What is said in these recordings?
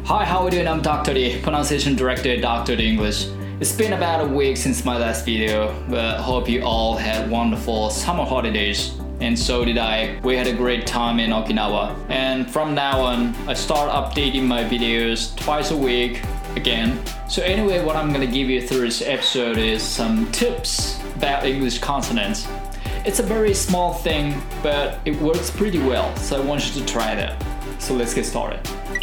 Hi, how are you doing? I'm Dr. D, pronunciation director at Dr. D English. It's been about a week since my last video, but hope you all had wonderful summer holidays. And so did I. We had a great time in Okinawa. And from now on, I start updating my videos twice a week again. So anyway, what I'm gonna give you through this episode is some tips about English consonants. It's a very small thing, but it works pretty well, so I want you to try that. So let's get started.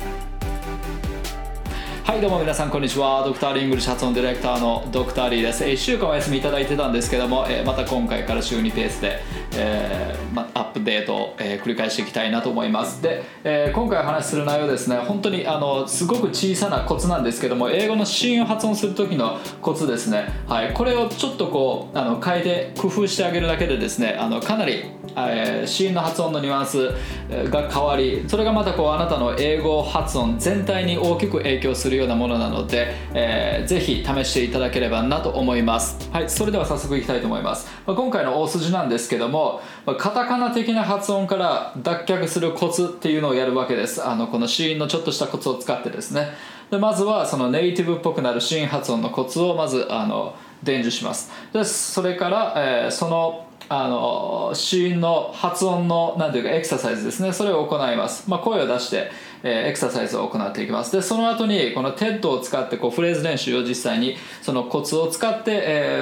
はいどうも皆さんこんにちは。ドクターリーイングリッシュ発音ディレクターのドクターリーです。1週間お休みいただいてたんですけども、また今回から週2ペースで、アップデートを、繰り返していきたいなと思います。で、今回お話しする内容ですね、本当にすごく小さなコツなんですけども、英語の子音を発音する時のコツですね。はい、これをちょっとこう変えて工夫してあげるだけでですね、かなり子音の発音のニュアンスが変わり、それがまたこうあなたの英語発音全体に大きく影響するようなものなので、ぜひ試していただければなと思います。はい、それでは早速いきたいと思います。今回の大筋なんですけども、カタカナ的な発音から脱却するコツっていうのをやるわけです。この子音のちょっとしたコツを使ってですね。でまずはそのネイティブっぽくなる子音発音のコツをまず伝授します。でそれから、その子音の発音のなんていうかエクササイズですね、それを行います。声を出して、エクササイズを行っていきます。でその後にこの TED を使ってこうフレーズ練習を実際にそのコツを使って、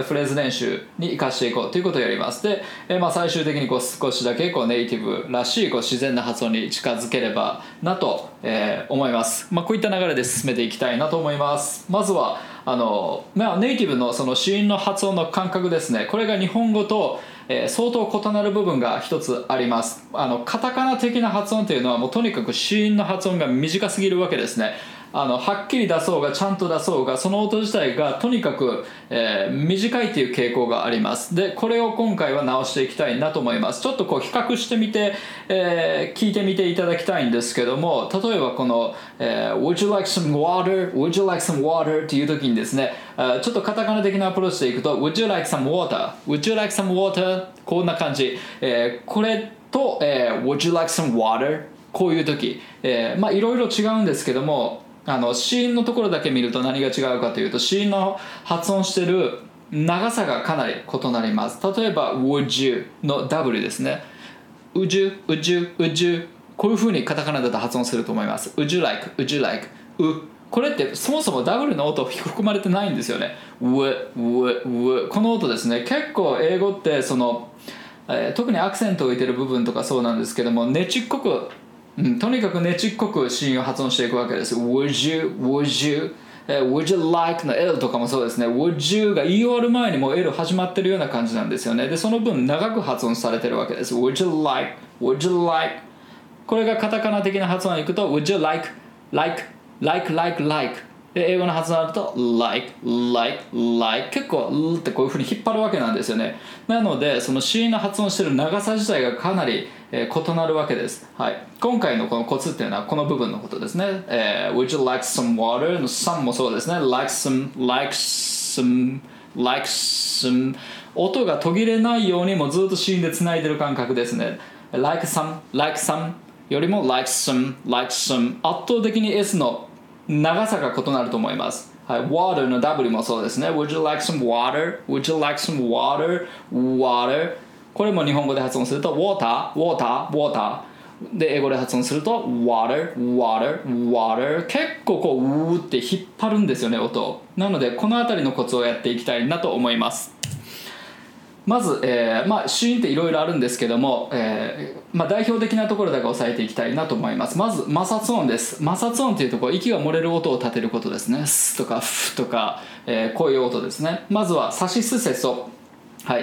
フレーズ練習に生かしていこうということをやります。で、最終的にこう少しだけこうネイティブらしいこう自然な発音に近づければなと、思います。こういった流れで進めていきたいなと思います。まずはネイティブのその子音の発音の感覚ですね。これが日本語と相当異なる部分が一つあります。カタカナ的な発音というのはもうとにかく子音の発音が短すぎるわけですね。はっきり出そうがちゃんと出そうがその音自体がとにかく、短いという傾向があります。でこれを今回は直していきたいなと思います。ちょっとこう比較してみて、聞いてみていただきたいんですけども、例えばこの、Would you like some water? Would you like some water? っていう時にですね、ちょっとカタカナ的なアプローチでいくと Would you like some water? Would you like some water? こんな感じ、これと、Would you like some water? こういう時、いろいろ違うんですけども、子音のところだけ見ると何が違うかというと、子音の発音している長さがかなり異なります。例えば Would you の W ですね。Would you, would you, would you こういう風にカタカナだと発音すると思います。Would you like, would you like これってそもそも W の音含まれてないんですよね。この音ですね。結構英語ってその、特にアクセントを置いてる部分とかそうなんですけども、ねちっこくとにかくねちっこく子音を発音していくわけです。Would you, would you, would you like の L とかもそうですね。Would you が言い終わる前にもう L 始まってるような感じなんですよね。でその分長く発音されてるわけです。Would you like, would you like これがカタカナ的な発音に行くと Would you like, like, like, like, like で英語の発音になると like, like, like 結構ってこういう風に引っ張るわけなんですよね。なのでその子音の発音してる長さ自体がかなり異なるわけです。はい、今回のこのコツっていうのはこの部分のことですね。Would you like some water? の some もそうですね。Like some, like some, like some 音が途切れないようにもずっと子音でつないでる感覚ですね。Like some, like some よりも like some, like some 圧倒的に S の長さが異なると思います。はい、water の W もそうですね。Would you like some water? Would you like some water? Water これも日本語で発音すると water, water, water で英語で発音すると water, water, water 結構こうって引っ張るんですよね、音を。なのでこのあたりのコツをやっていきたいなと思います。まず、子音っていろいろあるんですけども、代表的なところだけ押さえていきたいなと思います。まず摩擦音です。摩擦音というところ、息が漏れる音を立てることですね。スとかフとか、こういう音ですね。まずはサシスセソ、はい、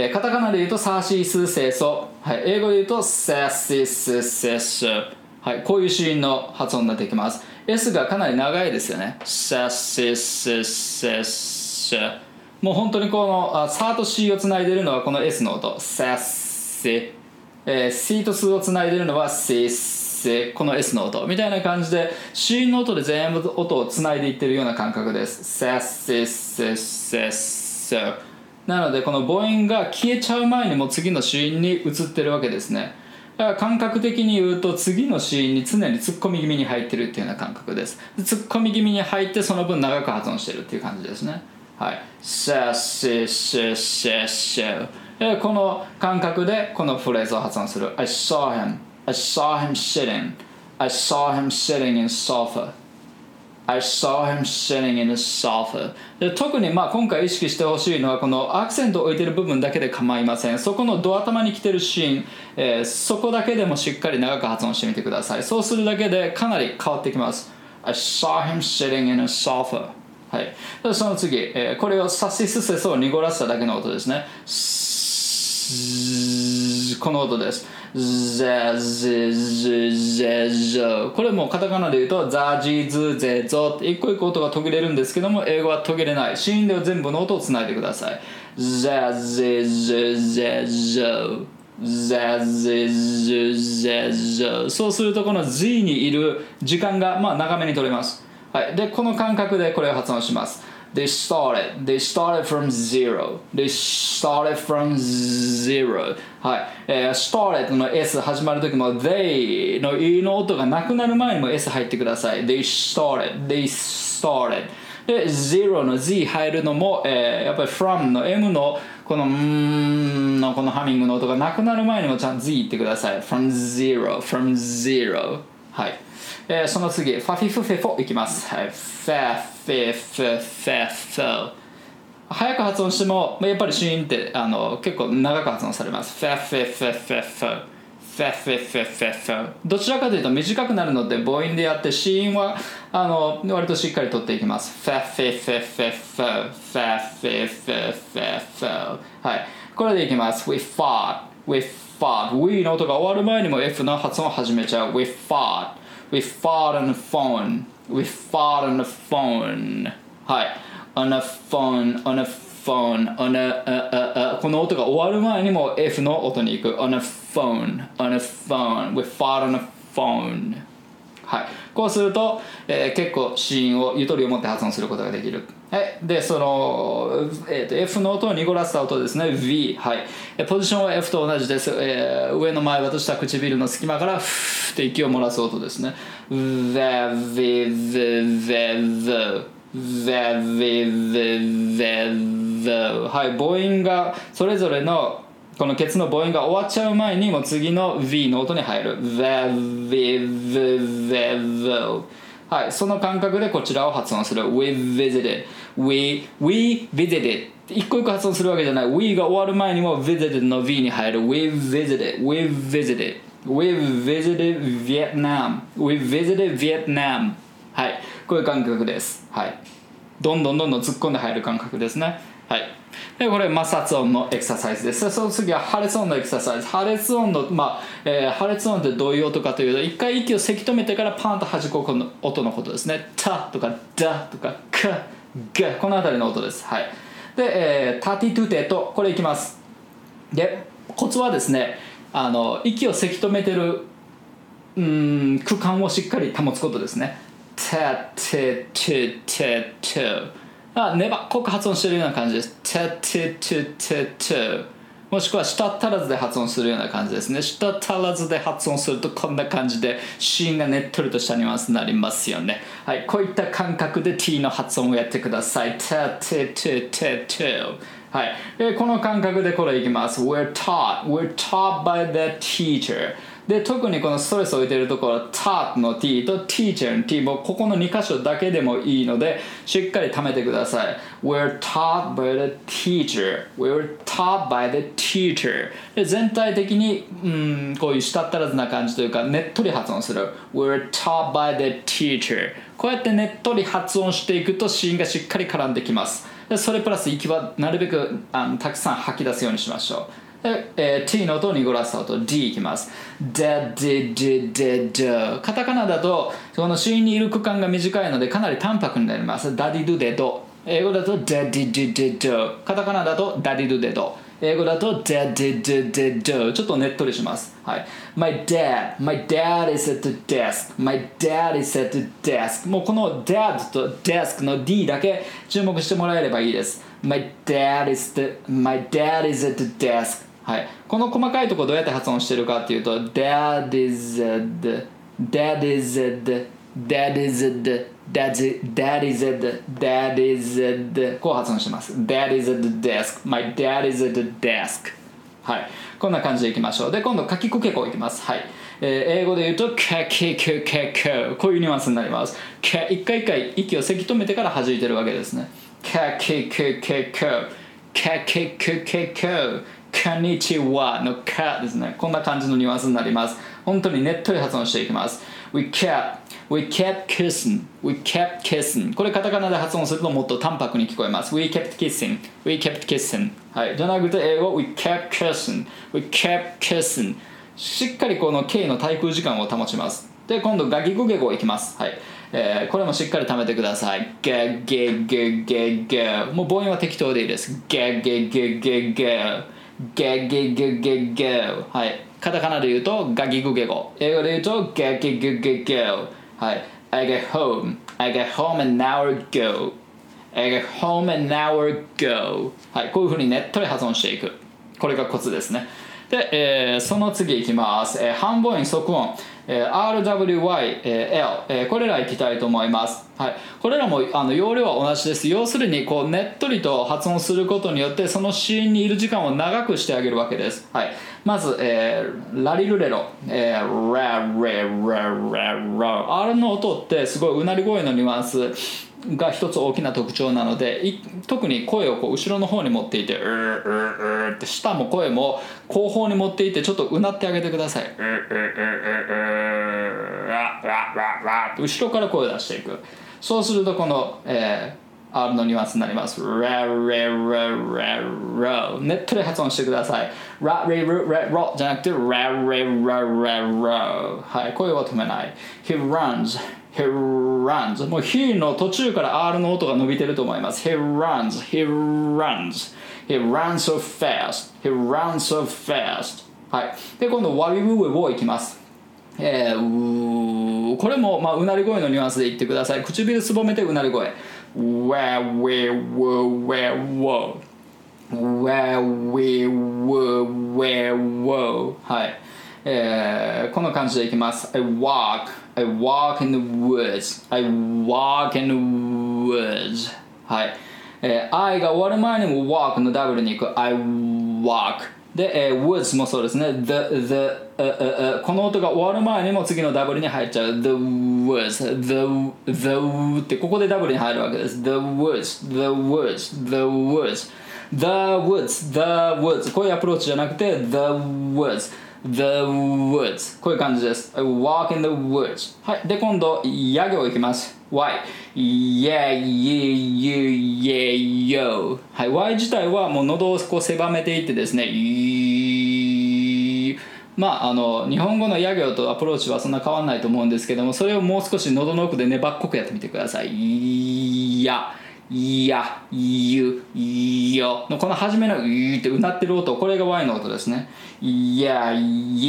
カタカナで言うとサシスセソ、はい、英語で言うとサシスセソ、はい、こういう子音の発音になっていきます。 S がかなり長いですよね。サシスセソ、もう本当にこのサと C をつないでいるのはこの S の音、サッセ、C とスをつないでいるのはセッセ、この S の音みたいな感じで C の音で全部音をつないでいってるような感覚です。サッセッセッセッセ。なのでこの母音が消えちゃう前にもう次の子音に移ってるわけですね。 感覚的に言うと次のシーンに常に突っ込み気味に入ってるっていうような感覚です。突っ込み気味に入ってその分長く発音してるっていう感じですね。はい。この感覚でこのフレーズを発音する。I saw him sitting in sofa.I saw him sitting in the sofa. で特に今回意識してほしいのはこのアクセントを置いている部分だけで構いません。そこのド頭に来てるシーン、そこだけでもしっかり長く発音してみてください。そうするだけでかなり変わってきます。I saw him sitting in a sofa. はい。でその次、これをサシスセソを濁らせただけの音ですね。この音です。ゼゼゼゼゼこれもカタカナで言うとザジズゼゾって一個一個音が途切れるんですけども英語は途切れない。子音では全部の音をつないでください。ザゼゼゼゼザゼゼゼゼそうするとこの Z にいる時間が長めに取れます。はい。でこの感覚でこれを発音します。They started from zero. They started from zero. はい。started の S 始まるときも they の E の音がなくなる前にも S 入ってください。They started. で、zero の Z 入るのも、やっぱり from の M のこののこのハミングの音がなくなる前にもちゃんと Z 言ってください。from zero. はい。その次、ファフィフフェフォいきます。はい。ファフェフフェフォ早く発音してもやっぱりシーンって結構長く発音されます。ファフェフェフェフォファフェフェフェフォどちらかというと短くなるので母音でやってシーンは割としっかり取っていきます。ファフェフェフェフォファフェフェフェフォはい。これでいきます。We fought We の音が終わる前にも F の発音を始めちゃう。We fought on the phone. はい。on a phone. この音が終わる前にも F の音に行く。on a phone. We fought on a phone. はい。こうすると、結構子音をゆとりを持って発音することができる。はい。で、その、F の音を濁らせた音ですね。V。はい。ポジションは F と同じです。上の前歯と下唇の隙間からフーって息を漏らす音ですね。はい。母音がそれぞれのこのケツの母音が終わっちゃう前にもう次の V の音に入る。はい。その感覚でこちらを発音する。We visited. 一個一個発音するわけじゃない。We が終わる前にも visited の V に入る。We visited Vietnam. はい。こういう感覚です。はい。どんどん突っ込んで入る感覚ですね。はい。でこれ摩擦音のエクササイズです。その次は破裂音のエクササイズ。破裂音の破裂音ってどういう音かというと一回息をせき止めてからパンと弾く音のことですね。タとかダとかカガこのあたりの音です。はい。で、タティトゥテとこれいきます。でコツはですね息をせき止めてる区間をしっかり保つことですね。タテテテテ粘っこく発音しているような感じです。もしくは舌足らずで発音するような感じですね。舌足らずで発音するとこんな感じで子音がねっとりとしたニュアンスになりますよね。はい、こういった感覚で T の発音をやってください。はい、この感覚でこれいきます。We're taught by the teacher。で特にこのストレスを置いているところ taught の T と teacher の T もここの2箇所だけでもいいのでしっかり貯めてください。 We're taught by the teacher で全体的にこういう舌足らずな感じというかねっとり発音する。 We're taught by the teacher こうやってねっとり発音していくと子音がしっかり絡んできます。でそれプラス息はなるべくたくさん吐き出すようにしましょう。T の音を濁らせた音 D いきます。カタカナだとこの子音にいる区間が短いのでかなり淡白になります。ダディドゥデド英語だとダディドゥデドカタカナだとダディドゥデド英語だとダディドゥデドちょっとねっとりします。はい。My dad is at the desk もうこの dad と desk の D だけ注目してもらえればいいです。My dad is at the desk はい、この細かいところどうやって発音してるかっていうと That is it That is it That is it That is it That is it こう発音してます。 That is at the desk My dad is at the desk、はい、こんな感じでいきましょう。で今度かきくけこいきます。はい、英語で言うとかきくけここういうニュアンスになります。一回一回息をせき止めてから弾いてるわけですね。かきくけこかきくけここんにちはのかですね。こんな感じのニュアンスになります。本当にねっとり発音していきます。We kept kissing We kept kissing これカタカナで発音するともっと淡白に聞こえます。 We kept kissing We kept kissing、はい、じゃなくて英語 We kept kissing We kept kissing しっかりこの K の滞空時間を保ちます。で今度ガギグゲゴいきます。はい、これもしっかり貯めてください。ガゲゲゲゲもう母音は適当でいいです。ガゲゲゲゲガギグゲゲはい、カタカナで言うとガギグゲゴ、英語で言うとガギグゲゲ、はい、I get home an hour ago I get home an hour ago、はい、こういう風にねっとり発音していく、これがコツですね。で、その次いきます。半母音即音、RWYL、これらいきたいと思います。はい、これらも要領は同じです。要するにこうねっとりと発音することによってその子音にいる時間を長くしてあげるわけです。はい、まず、ラリルレロ、ラレラララ R の音ってすごいうなり声のニュアンスが一つ大きな特徴なので、特に声をこう後ろの方に持っていてって舌も声も後方に持っていてちょっとうなってあげてください。後ろから声を出していく。そうするとこの、R のニュアンスになります。ラレラララねっとり発音してください。ラレラララじゃなくてラレラララ、はい、声を止めない。 He runs He runs もう He の途中から R の音が伸びてると思います。 He runs He runs He runs so fast He runs so fast、はい、で今度ワビブブブをいきます。これも、うなり声のニュアンスで言ってください。唇すぼめてうなり声。Where we were where はい、この感じでいきます。I walk in the woods I walk in the woods、はい、I が終わる前にも walk のダブルに行く。 I walkで、woods もそうですね。この音が終わる前にも次のダブルに入っちゃう。The woods the ってここでダブルに入るわけです。 The woodsこういうアプローチじゃなくて The woods こういう感じです。 I walk in the woods、はい、で今度ヤ行いきます。 Y Yeah yo、はい、Y 自体はもう喉をこう狭めていってですね、日本語のヤ行とアプローチはそんな変わらないと思うんですけども、それをもう少し喉の奥で粘っこくやってみてください。やゆよのこの初めのゆってうなってる音、これが Y の音ですね。やゆ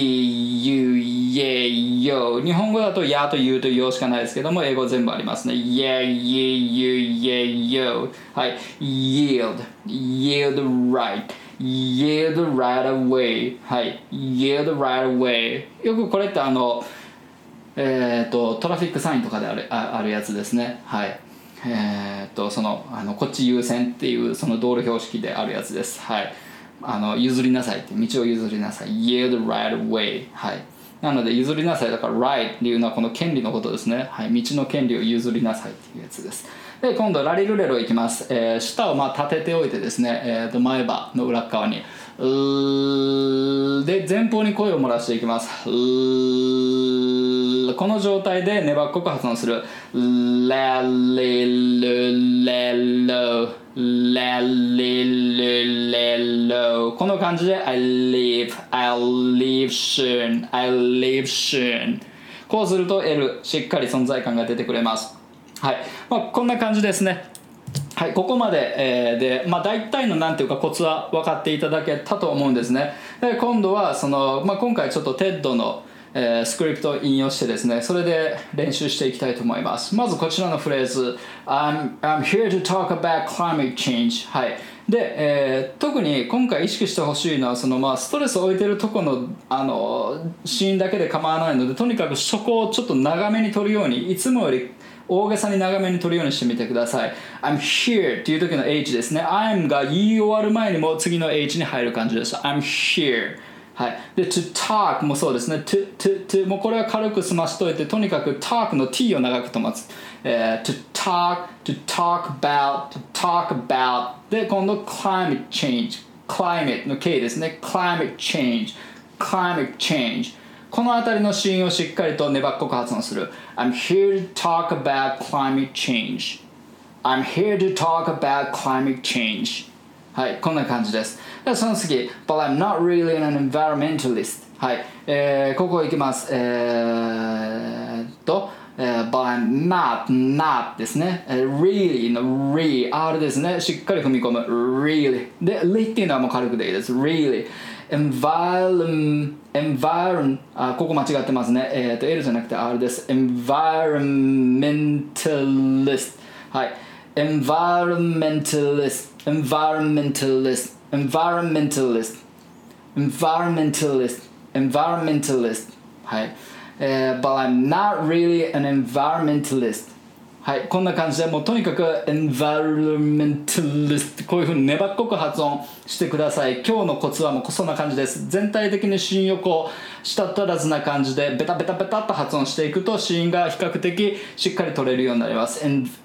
yeよ、日本語だとやとゆとよしかないですけども、英語全部ありますね。やゆyeよ、はい、yield right away、はい、yield right away、 よくこれってトラフィックサインとかであるやつですね。はい、こっち優先っていうその道路標識であるやつです。はい、譲りなさいって道を譲りなさい。 yield right away、はい、なので譲りなさいだから right っていうのはこの権利のことですね。はい、道の権利を譲りなさいっていうやつです。で今度ラリルレロいきます。舌を立てておいてですね、前歯の裏側にで前方に声を漏らしていきます。この状態で粘っこく発音する。ラリルレロラリルレロ、この感じで I'll leave soon こうすると L しっかり存在感が出てくれます。はい、こんな感じですね。はい、ここまで、で、大体のなんていうかコツは分かっていただけたと思うんですね。で今度は今回ちょっと TED のスクリプトを引用してですね、それで練習していきたいと思います。まずこちらのフレーズ I'm here to talk about climate change。 はい。で、特に今回意識してほしいのはストレスを置いてるとこの、シーンだけで構わないので、とにかくそこをちょっと長めに撮るように、いつもより大げさに長めに撮るようにしてみてください。 I'm here っていう時の H ですね。 I'm が言い終わる前にも次の H に入る感じです。 I'm here。はい、で to talk もそうですね。 to もうこれは軽く済ましといて、とにかく talk の t を長くと待つ。to talk about で今度 climate change、 climate の K ですね。 climate change このあたりのシーンをしっかりと粘っこく発音する。 I'm here to talk about climate change。 I'm here to talk about climate change。はい、こんな感じです。でその次 But I'm not really an environmentalist。 はい、ここいきます。But I'm not ですね。really の R ですね。しっかり踏み込む really で li っていうのはもう軽くでいいです。 really environment ここ間違ってますね。L じゃなくて R です。 environmentalist。 はい、environmentalist。はい、but I'm not really an environmentalist。 はい、こんな感じでもうとにかく environmentalist こういう風に粘っこく発音してください。今日のコツはもうそんな感じです。全体的に子音をこう舌足らずな感じでベタベタベタっと発音していくと子音が比較的しっかり取れるようになります。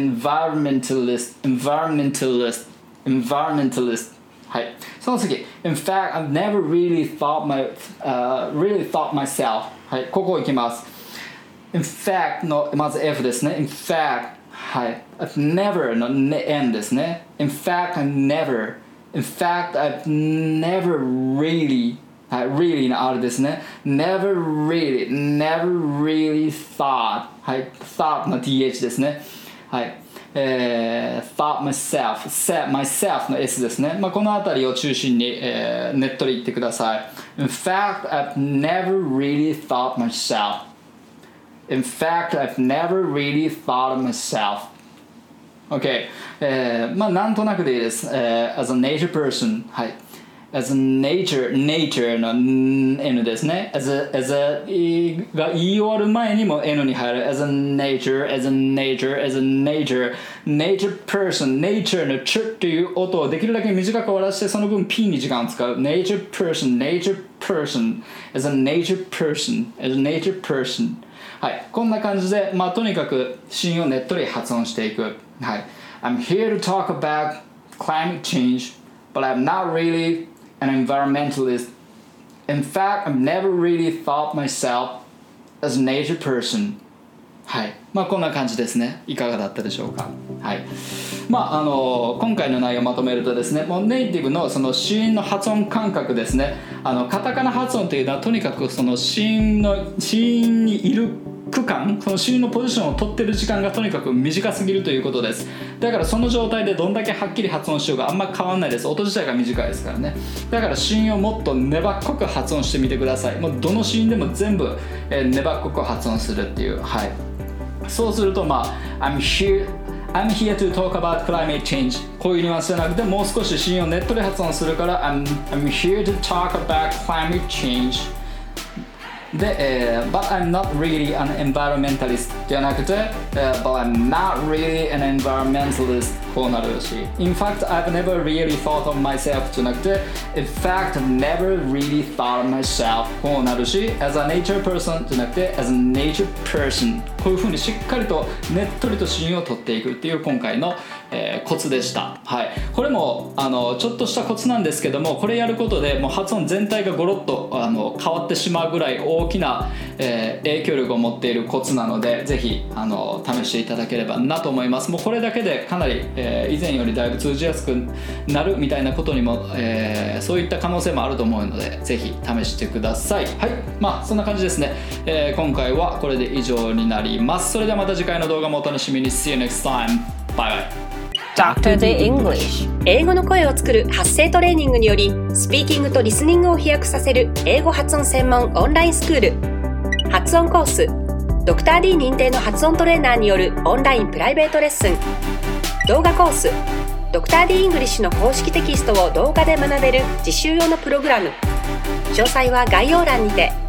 environmentalist。 はい、その次 In fact, I've never really thought myself。 はい、ここいきます。 In fact のまず F ですね。 In fact、 はい、I've never の N ですね。 In fact, I've never really、 はい、really の R ですね。 Never really thought、 はい、thought の TH ですね。はい、thought myself の S ですね。このあたりを中心に、ねっとり言ってください。 In fact, I've never really thought myself。 In fact, I've never really thought myself。 OK、なんとなくでいいです。as a nature person、 はい、as a nature の N ですね。as a が言い終わる前にも N に入る。as a nature person、 nature のチュっていう音をできるだけ短く終わらせて、その分 P に時間を使う。 nature person as a nature person。 はい、こんな感じで、とにかく子音をねっとり発音していく。はい、I'm here to talk about climate change, but I'm not really an environmentalist. In fact, I've never really thought myself as a nature person。 はい、こんな感じですね。いかがだったでしょうか。はい、今回の内容をまとめるとですね、もうネイティブのその子音の発音感覚ですね。カタカナ発音というのはとにかくその子音にいる区間、その子音のポジションを取ってる時間がとにかく短すぎるということです。だからその状態でどんだけはっきり発音しようがあんま変わんないです。音自体が短いですからね。だから子音をもっと粘っこく発音してみてください。もうどの子音でも全部、粘っこく発音するっていう。はい、そうするとI'm here to talk about climate change、 こういうニュアンスじゃなくて、もう少し子音をねっとり発音するから I'm here to talk about climate change で、but I'm not really an environmentalist じゃなくて、but I'm not really an environmentalist こうなるし、 In fact, I've never really thought of myself じゃなくて In fact, I've never really thought of myself こうなるし、 As a nature person じゃなくて As a nature person、 こういう風にしっかりとねっとりと子音を取っていくっていう今回の、コツでした。はい、これもちょっとしたコツなんですけども、これやることでもう発音全体がゴロッと変わってしまうぐらい大きな、影響力を持っているコツなので、ぜひ試していただければなと思います。もうこれだけでかなり、以前よりだいぶ通じやすくなるみたいなことにも、そういった可能性もあると思うので、ぜひ試してください。はい、そんな感じですね。今回はこれで以上になります。それではまた次回の動画もお楽しみに。 See you next time. Bye bye. Dr. The English 英語の声を作る発声トレーニングによりスピーキングとリスニングを飛躍させる英語発音専門オンラインスクール発音コース、ドクター d 認定の発音トレーナーによるオンラインプライベートレッスン、動画コース、ドクター d イングリッシュの公式テキストを動画で学べる実習用のプログラム。詳細は概要欄にて。